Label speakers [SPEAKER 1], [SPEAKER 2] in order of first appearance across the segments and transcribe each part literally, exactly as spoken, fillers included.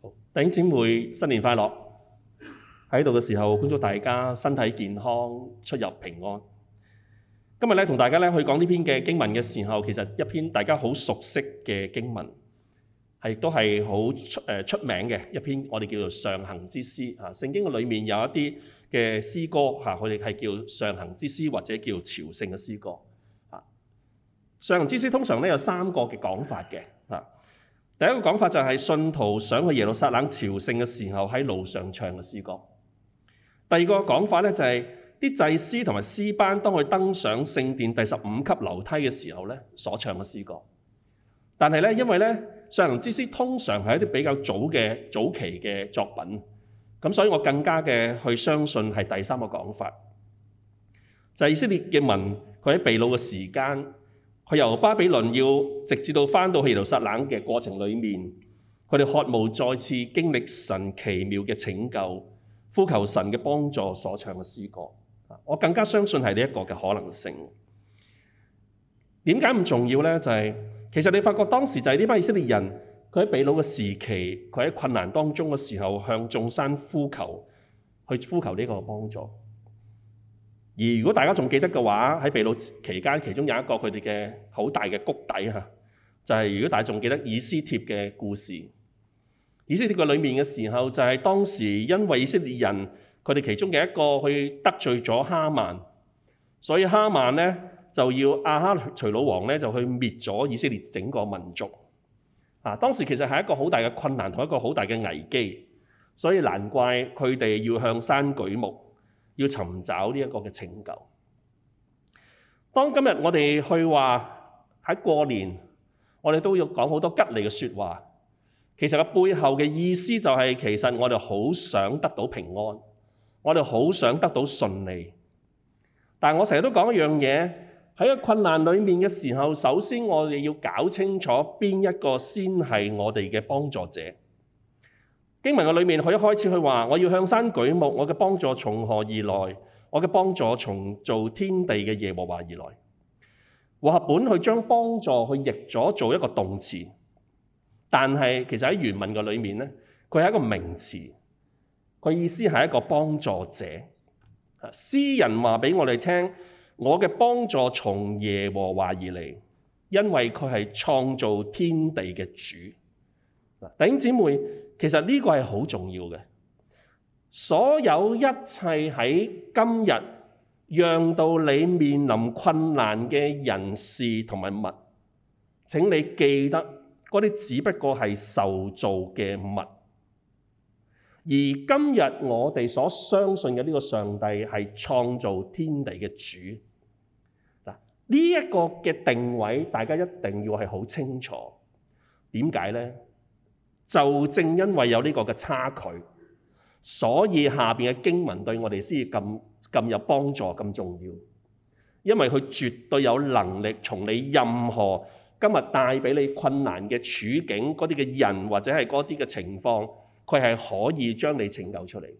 [SPEAKER 1] 弟兄姊妹，新年快樂！喺度嘅時候，恭祝大家身體健康，出入平安。今日咧，同大家咧去講呢篇嘅經文嘅時候，其實一篇大家好熟悉嘅經文，係都係好出誒出名嘅一篇，我哋叫做上行之詩啊。聖經嘅裏面有一啲嘅詩歌嚇，佢哋係叫上行之詩或者叫朝聖嘅詩歌啊。上行之詩通常咧有三個嘅講法嘅啊。第一個講法就係信徒想去耶路撒冷朝聖嘅時候喺路上唱嘅詩歌。第二個講法咧就係啲祭司同埋詩班當佢登上聖殿第十五級樓梯嘅時候咧所唱嘅詩歌。但係咧因為咧上行之詩通常係一啲比較早嘅早期嘅作品，咁所以我更加嘅去相信係第三個講法，就係以色列嘅民佢喺被擄嘅時間。佢由巴比倫要直至到返到耶路撒冷嘅過程裏面，佢哋渴慕再次經歷神奇妙嘅拯救，呼求神嘅幫助所唱嘅詩歌。我更加相信係呢一個嘅可能性。點解咁重要呢？就係、是、其實你發覺當時就係呢班以色列人，佢喺被擄嘅時期，佢喺困難當中嘅時候，向眾山呼求，去呼求呢個幫助。而如果大家仲記得嘅話，喺被擄期間，其中有一個佢哋嘅好大嘅谷底嚇，就係、是、如果大家仲記得以斯帖嘅故事。以斯帖嘅裏面嘅時候，就係當時因為以色列人佢哋其中嘅一個去得罪咗哈曼，所以哈曼咧就要亞哈隨魯王咧就去滅咗以色列整個民族。啊，當時其實係一個好大嘅困難同一個好大嘅危機，所以難怪佢哋要向山舉目。要尋找呢一個嘅拯救。當今日我哋去話喺過年，我哋都要講好多吉利嘅説話。其實個背後嘅意思就係，其實我哋好想得到平安，我哋好想得到順利。但係我成日都講一樣嘢，喺個困難裡面嘅時候，首先我哋要搞清楚邊一個先係我哋嘅幫助者。經文嘅裏面，佢一開始佢話：我要向山舉目，我嘅幫助從何而來？我嘅幫助從造天地嘅耶和華而來。和合本去將幫助去譯咗做一個動詞，但係其實喺原文嘅裏面咧，佢係一個名詞，佢意思係一個幫助者。詩人話俾我哋聽：我嘅幫助從耶和華而嚟，因為佢係創造天地嘅主。弟兄姊妹。其實呢個係好重要嘅，所有一切喺今日讓到你面臨困難嘅人事同埋物，請你記得嗰啲只不過係受造嘅物，而今日我哋所相信嘅呢個上帝係創造天地嘅主。嗱，呢一個嘅定位，大家一定要係好清楚。點解呢？就正因為有呢個嘅差距，所以下面嘅經文對我哋先至咁咁有幫助、咁重要。因為佢絕對有能力從你任何今日帶俾你困難嘅處境、嗰啲嘅人或者係嗰啲嘅情況，佢係可以將你拯救出嚟。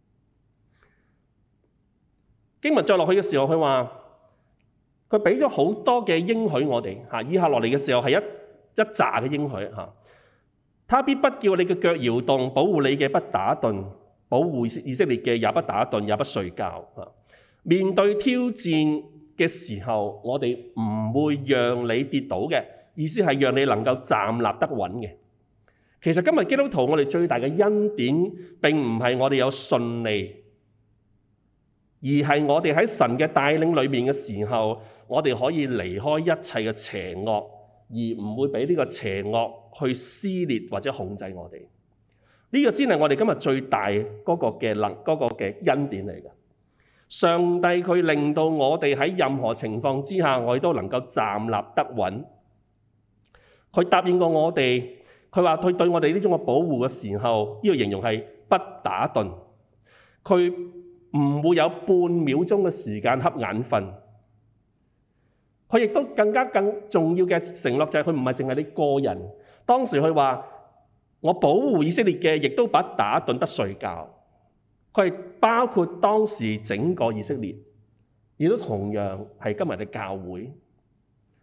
[SPEAKER 1] 經文再落去嘅時候，佢話佢俾咗好多嘅應許我哋嚇，以下落嚟嘅時候係一一紮嘅應許嚇。他必不叫你嘅腳搖動，保護你嘅不打盹，保護以色列嘅也不打盹，也不睡覺。面對挑戰嘅時候，我哋唔會讓你跌倒嘅，意思係讓你能夠站立得穩嘅。其實今日基督徒我哋最大嘅恩典並唔係我哋有順利，而係我哋喺神嘅帶領裏面嘅時候，我哋可以離開一切嘅邪惡，而唔會俾呢個邪惡去撕裂或者控制我哋，呢、這個先係我哋今日最大嗰個嘅能嗰個嘅恩典嚟嘅。上帝佢令到我哋喺任何情況之下，我哋都能夠站立得穩。佢答應過我哋，佢話佢對我哋呢種嘅保護嘅時候，呢、這個形容係不打盹，佢唔會有半秒鐘嘅時間瞌眼瞓。佢亦都更加更重要嘅承諾就係佢唔係淨係你個人。當時佢話：我保護以色列嘅，亦都不打盹得睡覺。佢係包括當時整個以色列，亦都同樣係今日嘅教會。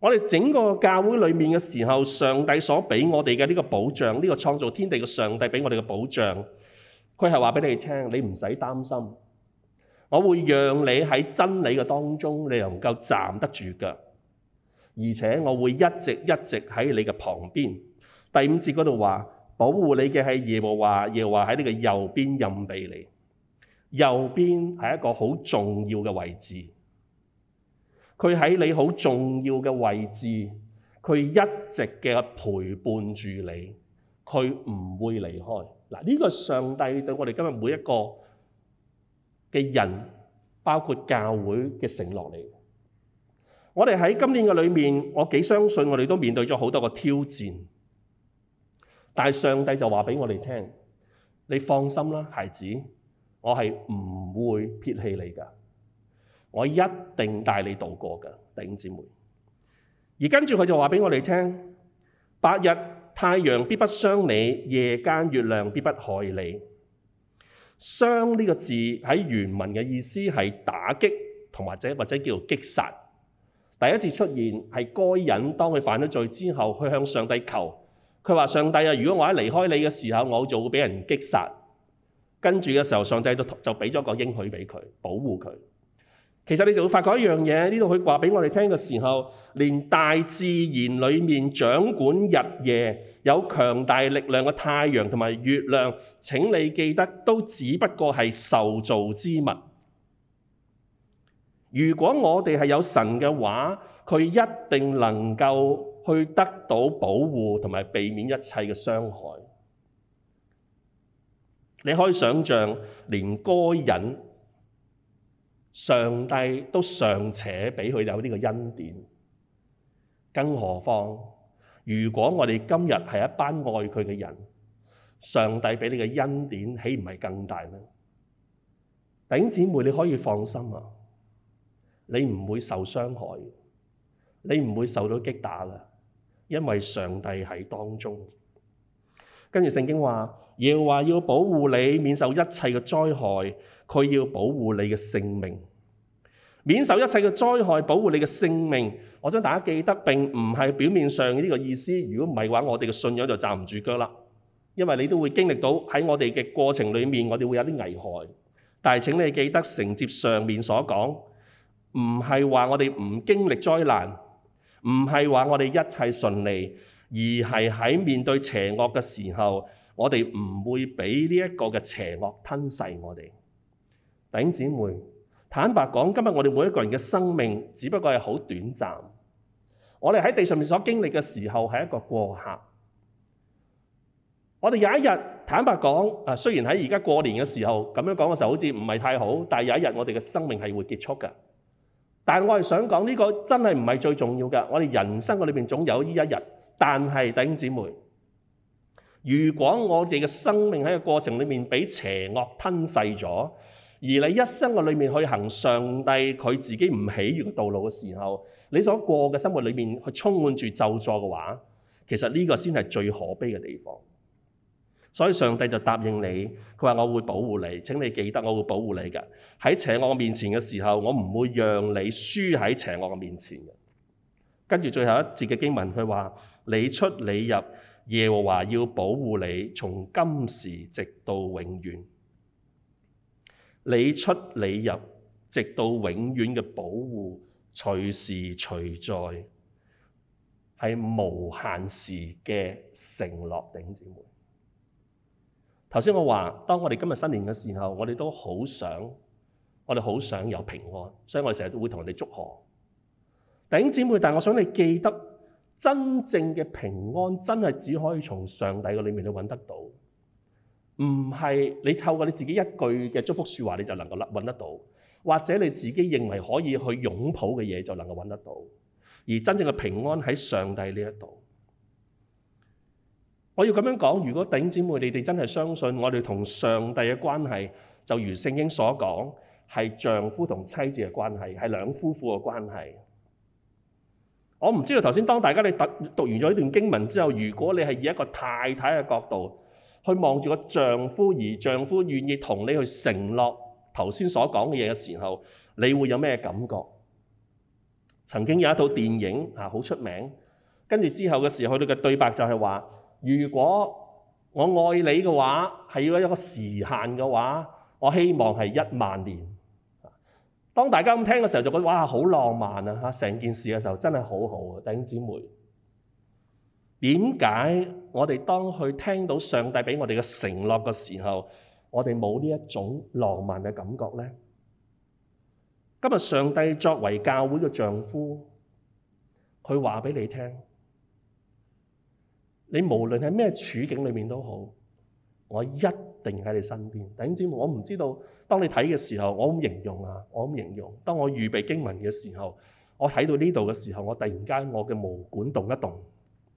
[SPEAKER 1] 我哋整個教會裏面嘅時候，上帝所俾我哋嘅呢個保障，呢個創造天地嘅上帝俾我哋嘅保障，佢係話俾你聽，你唔使擔心，我會讓你喺真理嘅當中，你能夠站得住腳，而且我會一直一直喺你嘅旁邊。第五節嗰度話，保護你嘅係耶和華，耶和華喺你嘅右邊蔭庇你。右邊係一個好重要嘅位置。佢喺你好重要嘅位置，佢一直嘅陪伴住你，佢唔會離開。嗱，呢個上帝對我哋今日每一個嘅人，包括教會嘅承諾嚟。我哋喺今年嘅裏面，我幾相信我哋都面對咗好多個挑戰，但係上帝就話俾我哋聽，你放心啦，孩子，我係唔會撇棄你㗎。我一定帶你渡過嘅，弟兄姊妹。而跟住佢就話俾我哋聽，白日太陽必不傷你，夜間月亮必不害你。傷呢個字喺原文嘅意思係打擊同或者或者叫做擊殺。第一次出現係該隱當佢犯咗罪之後，佢向上帝求，佢話上帝啊，如果我一離開你嘅時候，我就會俾人擊殺。跟住嘅時候，上帝就就俾咗個應許俾佢，保護佢。其實你就會發覺一樣嘢，呢度佢話俾我哋聽嘅時候，連大自然裏面掌管日夜、有強大力量嘅太陽同埋月亮，請你記得，都只不過係受造之物。如果我哋係有神嘅話，佢一定能夠去得到保護同埋避免一切嘅傷害。你可以想象，連該隱上帝都尚且俾佢有呢個恩典，更何況如果我哋今日係一班愛佢嘅人，上帝俾你嘅恩典豈唔係更大呢？弟兄姊妹，你可以放心啊，你唔會受傷害，你唔會受到擊打嘅，因為上帝喺當中。跟住聖經話，耶和華要保護你免受一切嘅災害，佢要保護你嘅性命，免受一切嘅災害，保護你嘅性命。我想大家記得，並唔係表面上呢個意思。如果唔係嘅話，我哋嘅信仰就站唔住腳啦。因為你都會經歷到喺我哋嘅過程裏面，我哋會有啲危害。但係請你記得承接上面所講，唔係話我哋唔經歷災難，唔係話我哋一切順利，而係喺面對邪惡嘅時候，我哋唔會俾呢一個嘅邪惡吞噬我哋。弟兄姊妹，坦白講，今日我哋每一個人嘅生命只不過係好短暫。我哋喺地上面所經歷嘅時候係一個過客。我哋有一日，坦白講，啊，雖然喺而家過年嘅時候咁樣講嘅時候好似唔係太好，但係有一日我哋嘅生命係會結束嘅。但係我係想講呢個真係唔係最重要嘅。我哋人生嘅裏面總有呢一日。但係弟兄姊妹，如果我哋嘅生命喺個過程裏面俾邪惡吞噬咗，而你一生嘅裏面去行上帝佢自己唔喜悅嘅道路嘅時候，你所過嘅生活裏面去充滿住咒詛嘅話，其實呢個先係最可悲嘅地方。所以上帝就答應你，佢話我會保護你，請你記得我會保護你嘅。喺邪惡面前嘅時候，我唔會讓你輸喺邪惡嘅面前嘅。跟住最後一節嘅經文，佢話你出你入，耶和華要保護你，從今時直到永遠。你出你入，直到永遠嘅保護，隨時隨在，係無限時嘅承諾。弟兄姊妹，頭先我話，當我哋今日新年嘅時候，我哋都好想，我哋好想有平安，所以我哋成日都會同人哋祝賀。弟兄姊妹，但係我想你記得，真正嘅平安真係只可以從上帝嘅裏面去揾得到，唔係你透過你自己一句嘅祝福説話你就能夠揾得到，或者你自己認為可以去擁抱嘅嘢就能夠揾得到。而真正嘅平安喺上帝呢一度。我要咁樣講，如果弟兄姊妹你哋真係相信我哋同上帝嘅關係，就如聖經所講，係丈夫同妻子嘅關係，係兩夫婦嘅關係。我唔知道頭先當大家你讀讀完咗呢段經文之後，如果你係以一個太太嘅角度去望住個丈夫，而丈夫願意同你去承諾頭先所講嘅嘢嘅時候，你會有咩感覺？ 曾經有一套電影啊，好出名。跟住之後嘅時候，佢哋嘅對白就係話：如果我愛你嘅話，係要一個時限嘅話，我希望係一萬年。當大家咁聽嘅時候，就覺得哇，好浪漫啊！嚇，成件事嘅時候真係好好啊，弟兄姊妹。點解我哋當去聽到上帝俾我哋嘅承諾嘅時候，我哋冇呢一種浪漫嘅感覺呢？今日上帝作為教會嘅丈夫，佢話俾你聽，你無論喺咩處境裏面都好，我一定喺你身邊。弟兄姊妹，我唔知道當你睇嘅時候，我咁形容啊，我咁形容。當我預備經文嘅時候，我睇到呢度嘅時候，我突然間我嘅毛管動一動，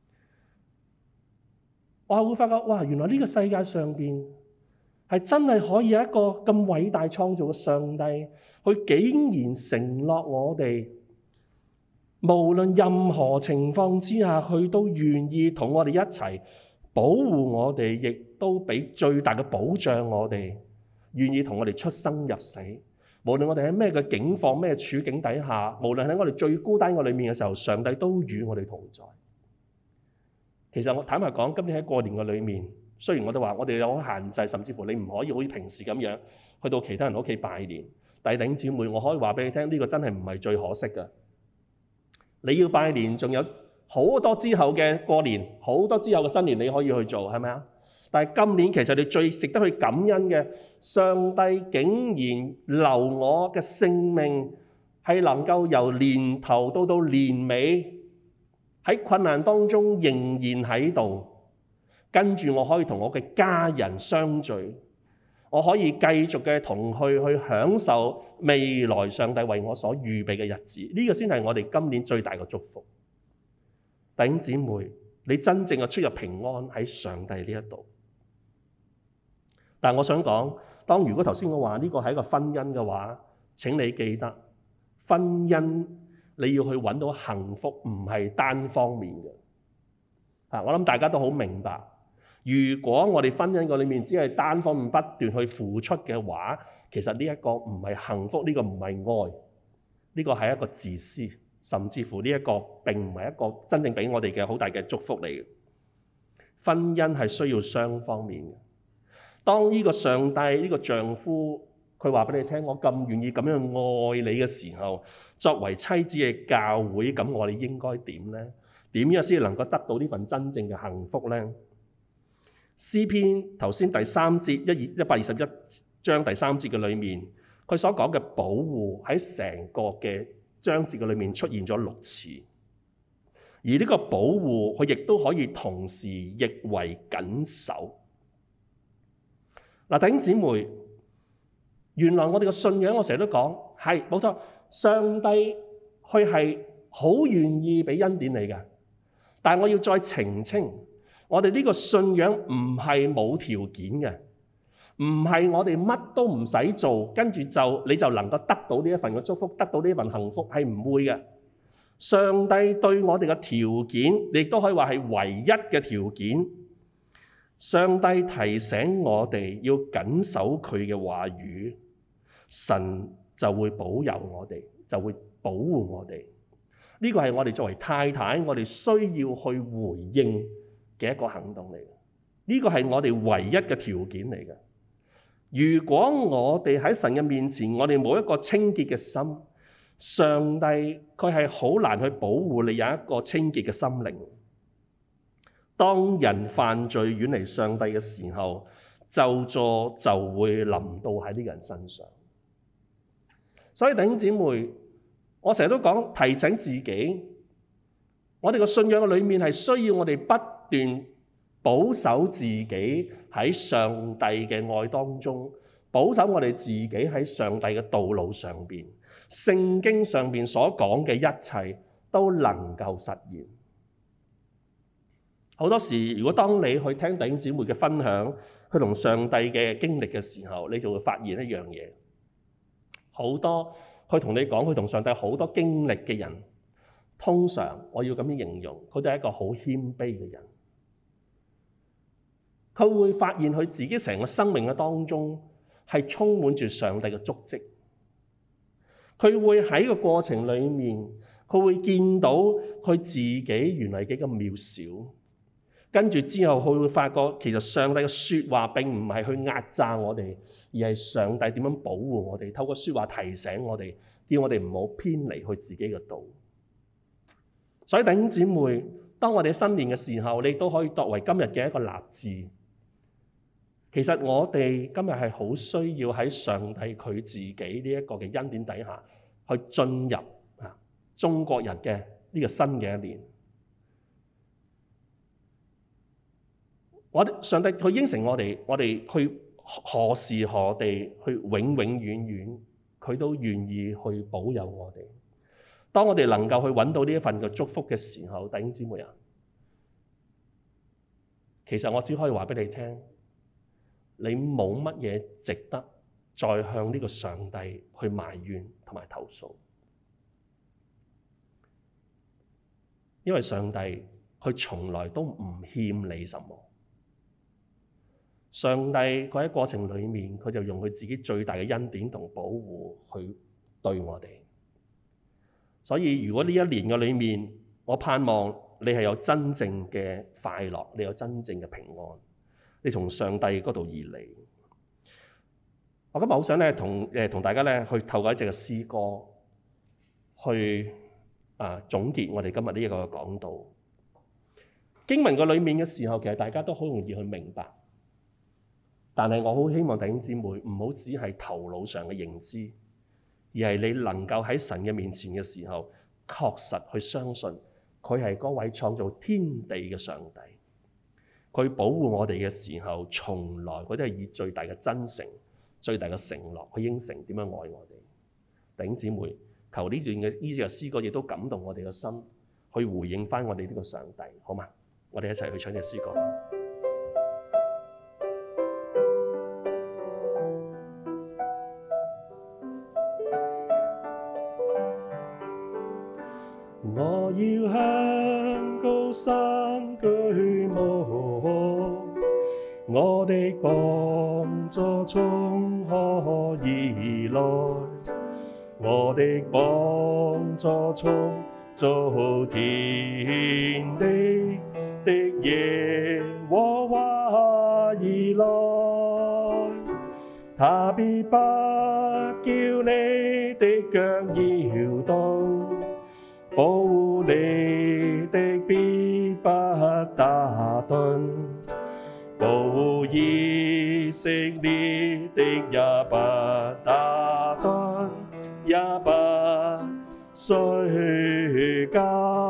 [SPEAKER 1] 我會發覺哇，原來呢個世界上邊係真係可以有一個咁偉大創造嘅上帝，佢竟然承諾我哋，無論任何情況之下，佢都願意同我哋一齊保護我哋，亦都俾最大嘅保障我哋，願意同我哋出生入死。無論我哋喺咩嘅境況、咩處境底下，無論喺我哋最孤單嘅裏面嘅時候，上帝都與我哋同在。其實我坦白講，今年喺過年嘅裏面，雖然我哋話我哋有限制，甚至乎你唔可以好似平時咁樣去到其他人屋企拜年，但係弟兄姊妹，我可以話俾你聽，呢個真係唔係最可惜嘅。你要拜年，仲有好多之後嘅過年，好多之後嘅新年你可以去做，係咪啊？但係今年其實你最值得去感恩嘅，上帝竟然留我嘅性命係能夠由年頭到到年尾，喺困難當中仍然喺度，跟住我可以同我嘅家人相聚，我可以繼續嘅同佢去享受未來上帝為我所預備嘅日子。呢個先係我哋今年最大嘅祝福。弟兄姊妹，你真正嘅出入平安喺上帝呢一度。但我想講，當如果頭先我話呢個係一個婚姻嘅話，請你記得，婚姻你要去揾到幸福唔係單方面嘅。啊，我諗大家都好明白，如果我哋婚姻個裏面只係單方面不斷去付出嘅話，其實呢一個唔係幸福，呢個唔係愛，呢個係一個自私，甚至乎呢一個並唔係一個真正俾我哋嘅好大嘅祝福嚟嘅。婚姻係需要雙方面嘅。當呢個上帝呢個丈夫佢話俾你聽，我咁願意咁樣愛你嘅時候，作為妻子嘅教會，咁我哋應該點呢？點樣先能夠得到呢份真正嘅幸福呢？詩篇頭先第三節一二一百二十一章第三節嘅裏面，佢所講嘅保護喺成個嘅章節嘅裏面出現咗六次，而呢個保護佢亦都可以同時譯為緊守。嗱，弟兄姊妹，原來我哋嘅信仰，我成日都講係冇錯，上帝佢係好願意俾恩典你嘅，但係我要再澄清，我哋呢個信仰唔係冇條件嘅，唔係我哋乜都唔使做，跟住就你就能夠得到呢一份嘅祝福，得到呢一份幸福，係唔會嘅。上帝對我哋嘅條件，亦都可以話係唯一嘅條件。上帝提醒我哋要謹守佢嘅話語，神就會保佑我哋，就會保護我哋。呢個係我哋作為太太，我哋需要去回應嘅一個行動嚟嘅。呢個係我哋唯一嘅條件嚟嘅。如果我哋喺神嘅面前，我哋冇一個清潔嘅心，上帝佢係好難去保護你有一個清潔嘅心靈。當人犯罪遠離上帝嘅時候，咒詛就會臨到喺呢個人身上。所以弟兄姊妹，我成日都講提醒自己，我哋嘅信仰嘅裏面係需要我哋不斷保守自己喺上帝嘅愛當中，保守我哋自己喺上帝嘅道路上邊，聖經上邊所講嘅一切都能夠實現。好多時，如果當你去聽弟兄姊妹嘅分享，佢同上帝嘅經歷嘅時候，你就會發現一樣嘢。好多佢同你講佢同上帝好多經歷嘅人，通常我要咁樣形容，佢哋係一個好謙卑嘅人。佢會發現佢自己成個生命嘅當中係充滿住上帝嘅足跡。佢會喺個過程裡面， 佢會見到佢自己原來幾咁渺小。跟住之後，佢會發覺其實上帝嘅説話並唔係去壓榨我哋，而係上帝點樣保護我哋，透過説話提醒我哋，叫我哋唔好偏離佢自己嘅道。所以弟兄姊妹，當我哋新年嘅時候，你都可以作為今日嘅一個立志。其實我哋今日係好需要喺上帝佢自己呢一個嘅恩典底下，去進入啊中國人嘅呢個新嘅一年。我哋上帝佢應承我哋，我哋去何時何地，去永永遠遠，佢都願意去保佑我哋。當我哋能夠去揾到呢一份嘅祝福嘅時候，弟兄姊妹啊，其實我只可以話俾你聽，你冇乜嘢值得再向呢個上帝去埋怨同埋投訴，因為上帝佢從來都唔欠你什麼。上帝佢喺過程裡面，佢就用佢自己最大嘅恩典同保護去對我哋。所以如果呢一年嘅裡面，我盼望你係有真正嘅快樂，你有真正嘅平安，你從上帝嗰度而嚟。我今日好想咧同誒同大家咧去透過一隻嘅詩歌去啊總結我哋今日呢一個講道。經文嘅裡面嘅時候，其實大家都好容易去明白。但係我好希望弟兄姊妹唔好只係頭腦上嘅認知，而係你能夠喺神嘅面前嘅時候，確實去相信佢係嗰位創造天地嘅上帝。佢保護我哋嘅時候，從來佢都係以最大嘅真誠、最大嘅承諾去應承點樣愛我哋。弟兄姊妹，求呢段嘅呢隻詩歌亦都感動我哋嘅心，去回應返我哋呢個上帝，好嘛？我哋一齊去唱隻詩歌。我要向高山舉目，我的幫助從何而來？我的幫助從造天地的耶和華而來，他必不叫你的腳搖動，保護你的必不打盹，保護以色列的也不打盹，也不睡覺，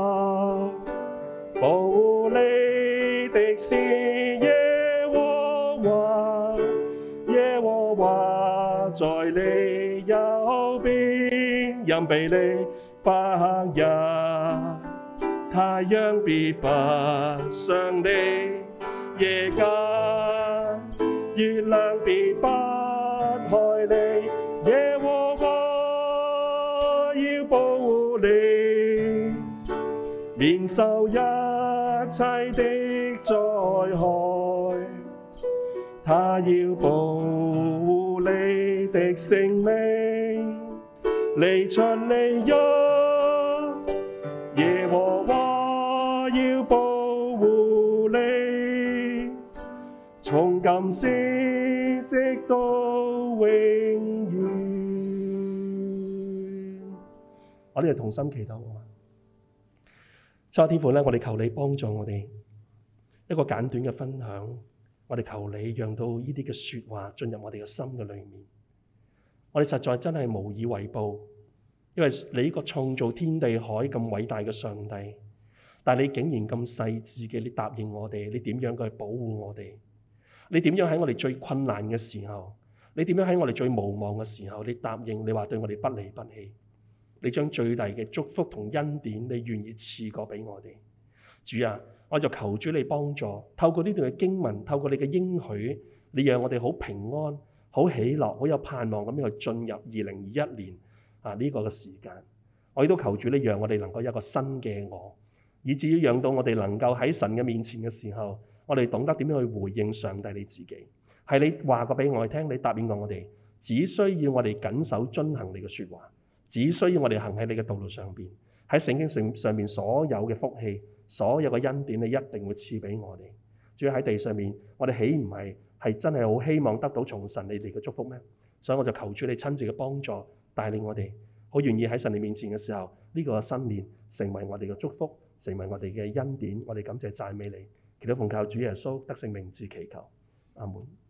[SPEAKER 1] 保護你的是耶和華，耶和華在你右邊，蔭庇你白日，太陽必不傷你，夜間月亮必不害你，耶和華要保護你，免受一切的災害，他要保護你的性命，離出離入，耶和華要保護你，從今時直到永遠。我哋同心祈禱啊！親愛天父咧，我哋求你幫助我哋一個簡短嘅分享，我哋求你讓到呢啲嘅説話進入我哋嘅心嘅裏面。我哋實在真係無以為報，因為你呢個創造天地海咁偉大嘅上帝，但係你竟然咁細緻嘅，你答應我哋，你點樣去保護我哋？你點樣喺我哋最困難嘅時候，你點樣喺我哋最無望嘅時候，你答應你話對我哋不離不棄，你將最大嘅祝福同恩典，你願意賜過俾我哋。主啊，我就求主你幫助，透過呢段嘅經文，透過你嘅應許，你讓我哋好平安、好喜樂、好有盼望咁樣去進入二零二一年啊呢個嘅時間。我亦都求主你讓我哋能夠有一個新嘅我，以至於讓到我哋能夠喺神嘅面前嘅時候，我哋懂得點樣去回應上帝你自己。係你話過俾我哋聽，你答應過我哋，只需要我哋謹守遵行你嘅説話，只需要我哋行喺你嘅道路上邊， 喺聖經上上面所有嘅福氣，所有嘅恩典，你一定會賜俾我哋。主要喺地上面，我哋豈唔係係真係好希望得到從神你哋嘅祝福咩？所以我就求主你親自嘅幫助，帶領我哋，好願意喺神你面前嘅時候，呢、這個新年成為我哋嘅祝福，成為我哋嘅恩典。我哋感謝讚美你，祈禱奉靠主耶穌得勝名字祈求，阿門。